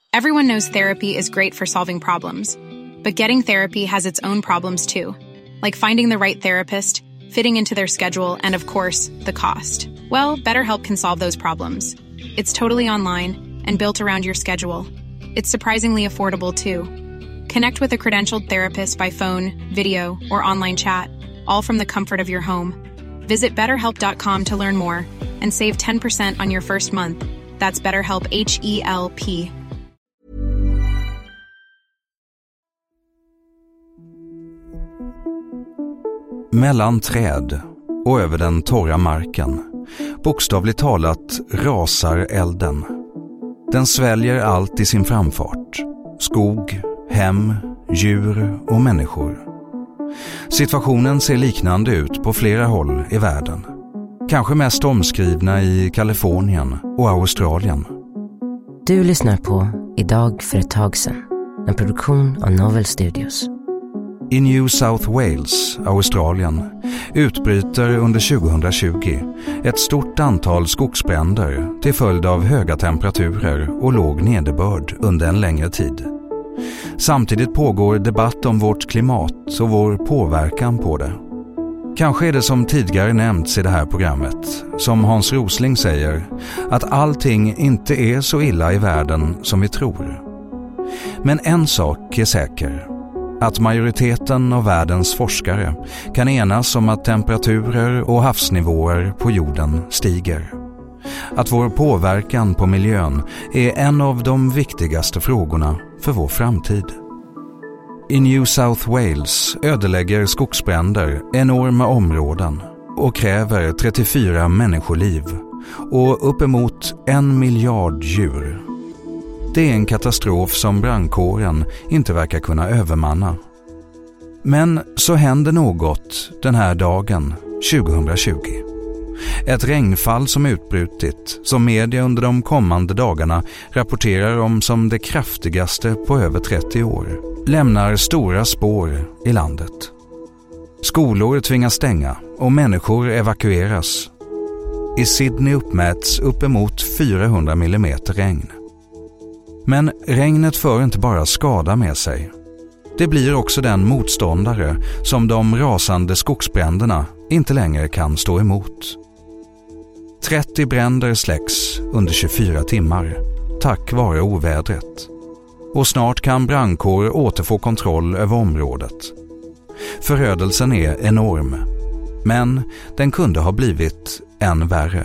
Everyone knows therapy is great for solving problems. But getting therapy has its own problems too. Like finding the right therapist, fitting into their schedule, and of course, the cost. Well, BetterHelp can solve those problems. It's totally online and built around your schedule. It's surprisingly affordable too. Connect with a credentialed therapist by phone, video, or online chat, all from the comfort of your home. Visit BetterHelp.com to learn more and save 10% on your first month. That's BetterHelp, H-E-L-P. Mellan träd och över den torra marken, bokstavligt talat, rasar elden. Den sväljer allt i sin framfart. Skog, hem, djur och människor. Situationen ser liknande ut på flera håll i världen. Kanske mest omskrivna i Kalifornien och Australien. Du lyssnar på Idag för ett tag sedan, en produktion av Novel Studios. I New South Wales, Australien, utbryter under 2020 ett stort antal skogsbränder till följd av höga temperaturer och låg nederbörd under en längre tid. Samtidigt pågår debatt om vårt klimat och vår påverkan på det. Kanske är det som tidigare nämnts i det här programmet, som Hans Rosling säger, att allting inte är så illa i världen som vi tror. Men en sak är säker. Att majoriteten av världens forskare kan enas om att temperaturer och havsnivåer på jorden stiger. Att vår påverkan på miljön är en av de viktigaste frågorna för vår framtid. I New South Wales ödelägger skogsbränder enorma områden och kräver 34 människoliv och uppemot 1 miljard djur. Det är en katastrof som brandkåren inte verkar kunna övermanna. Men så händer något den här dagen 2020. Ett regnfall som utbrutit, som media under de kommande dagarna rapporterar om som det kraftigaste på över 30 år, lämnar stora spår i landet. Skolor tvingas stänga och människor evakueras. I Sydney uppmäts uppemot 400 millimeter regn. Men regnet för inte bara skada med sig. Det blir också den motståndare som de rasande skogsbränderna inte längre kan stå emot. 30 bränder släcks under 24 timmar, tack vare ovädret. Och snart kan brandkår återfå kontroll över området. Förödelsen är enorm, men den kunde ha blivit än värre.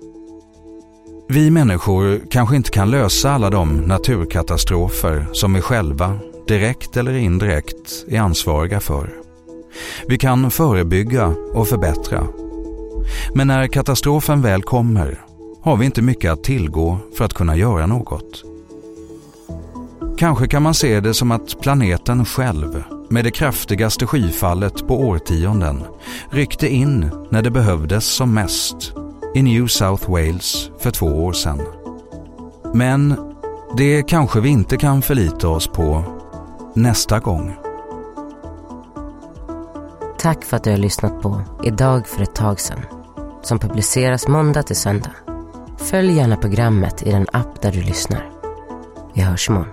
Vi människor kanske inte kan lösa alla de naturkatastrofer som vi själva, direkt eller indirekt, är ansvariga för. Vi kan förebygga och förbättra. Men när katastrofen väl kommer har vi inte mycket att tillgå för att kunna göra något. Kanske kan man se det som att planeten själv, med det kraftigaste skyfallet på årtionden, ryckte in när det behövdes som mest i New South Wales för 2 år sedan. Men det kanske vi inte kan förlita oss på nästa gång. Tack för att du har lyssnat på Idag för ett tag sedan, som publiceras måndag till söndag. Följ gärna programmet i den app där du lyssnar. Vi hörs imorgon.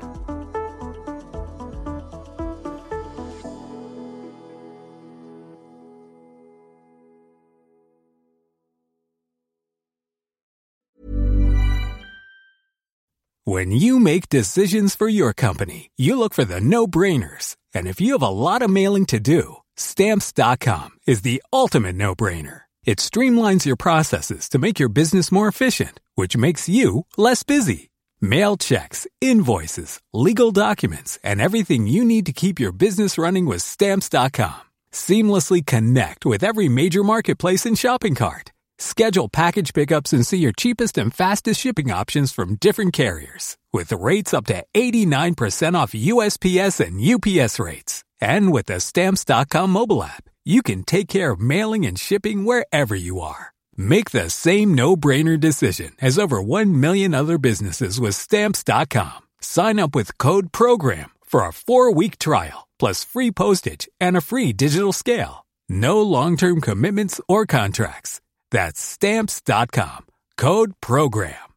When you make decisions for your company, you look for the no-brainers. And if you have a lot of mailing to do, Stamps.com is the ultimate no-brainer. It streamlines your processes to make your business more efficient, which makes you less busy. Mail checks, invoices, legal documents, and everything you need to keep your business running with Stamps.com. Seamlessly connect with every major marketplace and shopping cart. Schedule package pickups and see your cheapest and fastest shipping options from different carriers, with rates up to 89% off USPS and UPS rates. And with the Stamps.com mobile app, you can take care of mailing and shipping wherever you are. Make the same no-brainer decision as over 1 million other businesses with Stamps.com. Sign up with code PROGRAM for a 4-week trial, plus free postage and a free digital scale. No long-term commitments or contracts. That's Stamps.com. Code PROGRAM.